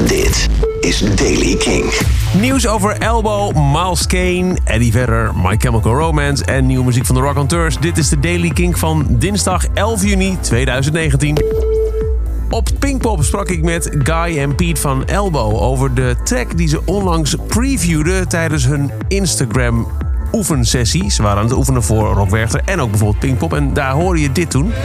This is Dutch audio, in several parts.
Dit is Daily King. Nieuws over Elbow, Miles Kane, Eddie Vedder, My Chemical Romance en nieuwe muziek van de Raconteurs. Dit is de Daily King van dinsdag 11 juni 2019. Op Pinkpop sprak ik met Guy en Pete van Elbow over de track die ze onlangs previewden tijdens hun Instagram oefensessie. Ze waren aan het oefenen voor Rock Werchter en ook bijvoorbeeld Pinkpop. En daar hoorde je dit toen.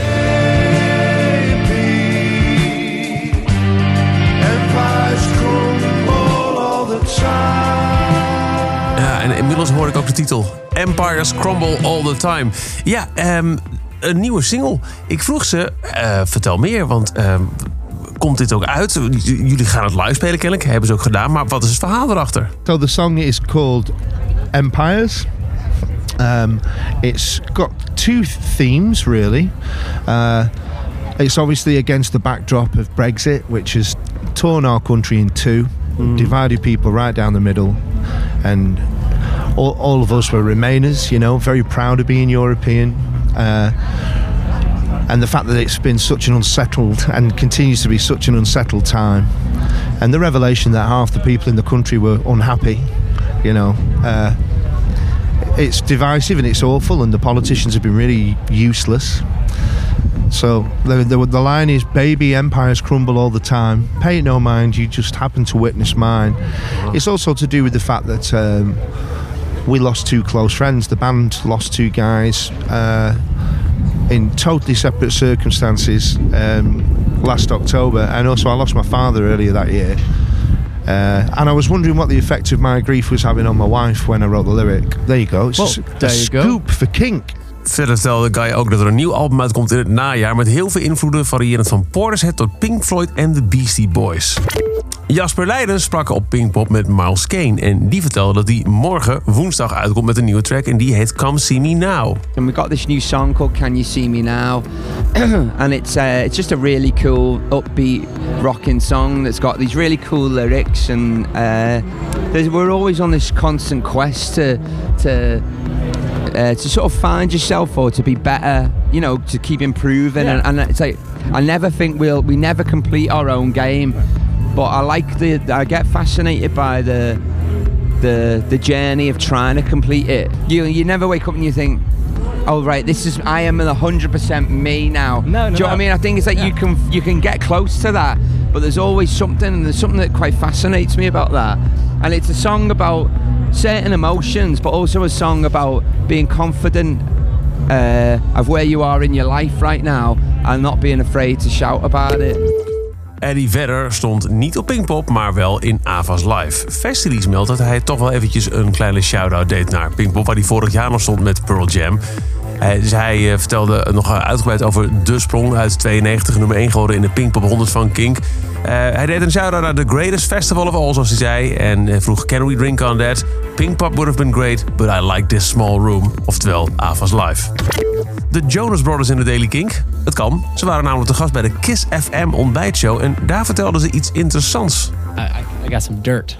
Ja, en inmiddels hoor ik ook de titel. Empires Crumble All the Time. Ja, een nieuwe single. Ik vroeg ze, vertel meer, want komt dit ook uit? Jullie gaan het live spelen kennelijk, hebben ze ook gedaan. Maar wat is het verhaal erachter? So the song is called Empires. It's got two themes, really. It's obviously against the backdrop of Brexit, which has torn our country in two, divided people right down the middle, and all of us were Remainers, you know, very proud of being European. And the fact that it's been such an unsettled and continues to be such an unsettled time, and the revelation that half the people in the country were unhappy, you know, it's divisive and it's awful, and the politicians have been really useless. So the line is, baby, empires crumble all the time. Pay it no mind, you just happen to witness mine. It's also to do with the fact that we lost two close friends. The band lost two guys in totally separate circumstances last October. And also I lost my father earlier that year. And I was wondering what the effect of my grief was having on my wife when I wrote the lyric. There you go. It's a scoop for Kink. Verder vertelde Guy ook dat er een nieuw album uitkomt in het najaar met heel veel invloeden, variërend van Portishead tot Pink Floyd en de Beastie Boys. Jasper Leiden sprak op Pinkpop met Miles Kane en die vertelde dat hij morgen woensdag uitkomt met een nieuwe track en die heet Come See Me Now. And we got this new song called Can You See Me Now, and it's just a really cool upbeat rocking song that's got these really cool lyrics, and we're always on this constant quest to sort of find yourself or to be better, you know, to keep improving. Yeah. And it's like, I never think we never complete our own game, but I get fascinated by the journey of trying to complete it. You never wake up and you think, oh right, I am 100% me now. No, Do you know what I mean? I think it's like you can get close to that, but there's always something, and there's something that quite fascinates me about that. And it's a song about certain emotions, but also a song about being confident of where you are in your life right now and not being afraid to shout about it. Eddie Vedder stond niet op Pinkpop, maar wel in Ava's Live. Festileaks meldt dat hij toch wel eventjes een kleine shout-out deed naar Pinkpop, waar hij vorig jaar nog stond met Pearl Jam. Dus hij vertelde nog uitgebreid over De Sprong uit 92, nummer 1 geworden in de Pinkpop 100 van Kink. Hij deed een shout-out naar The Greatest Festival of All, zoals hij zei. En vroeg, can we drink on that? Pinkpop would have been great, but I like this small room. Oftewel, Ava's Live. De Jonas Brothers in de Daily Kink. Het kan. Ze waren namelijk te gast bij de Kiss FM ontbijtshow. En daar vertelden ze iets interessants. I got some dirt.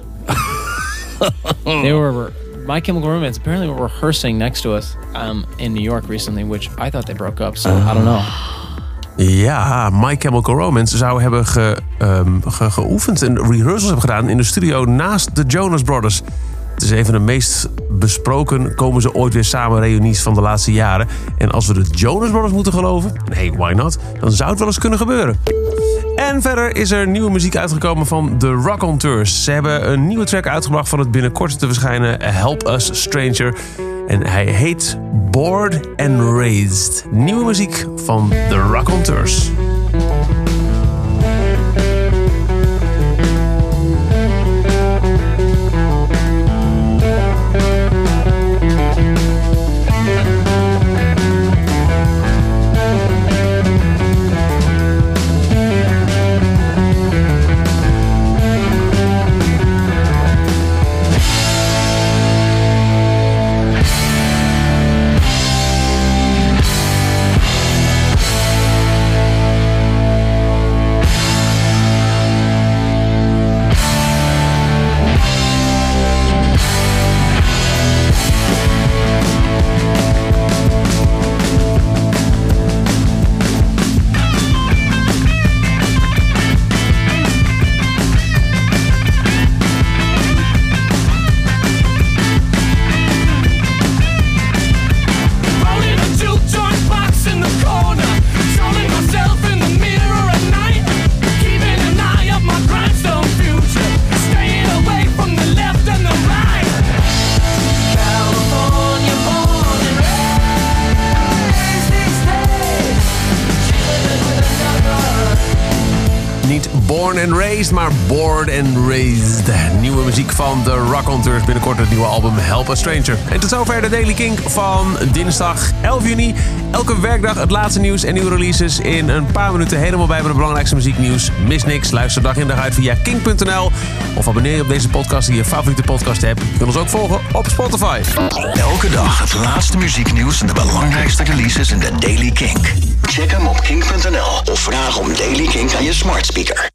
They were... My Chemical Romance apparently were rehearsing next to us in New York recently, which I thought they broke up, so I don't know. Ja, My Chemical Romance zou hebben geoefend en rehearsals hebben gedaan in de studio naast de Jonas Brothers. Het is een van de meest besproken, komen ze ooit weer samen reunies van de laatste jaren. En als we de Jonas Brothers moeten geloven, hey, why not? Dan zou het wel eens kunnen gebeuren. En verder is er nieuwe muziek uitgekomen van de Raconteurs. Ze hebben een nieuwe track uitgebracht van het binnenkort te verschijnen Help Us Stranger. En hij heet Bored and Raised. Nieuwe muziek van de Raconteurs. Born and Raised, maar Bored and Raised. Nieuwe muziek van de Raconteurs. Binnenkort het nieuwe album Help a Stranger. En tot zover de Daily Kink van dinsdag 11 juni. Elke werkdag het laatste nieuws en nieuwe releases in een paar minuten helemaal bij met het belangrijkste muzieknieuws. Mis niks, luister dag in dag uit via kink.nl of abonneer je op deze podcast die je favoriete podcast hebt. Je kunt ons ook volgen op Spotify. Elke dag het laatste muzieknieuws en de belangrijkste releases in de Daily Kink. Check hem op kink.nl of vraag om Daily Kink aan je smart speaker.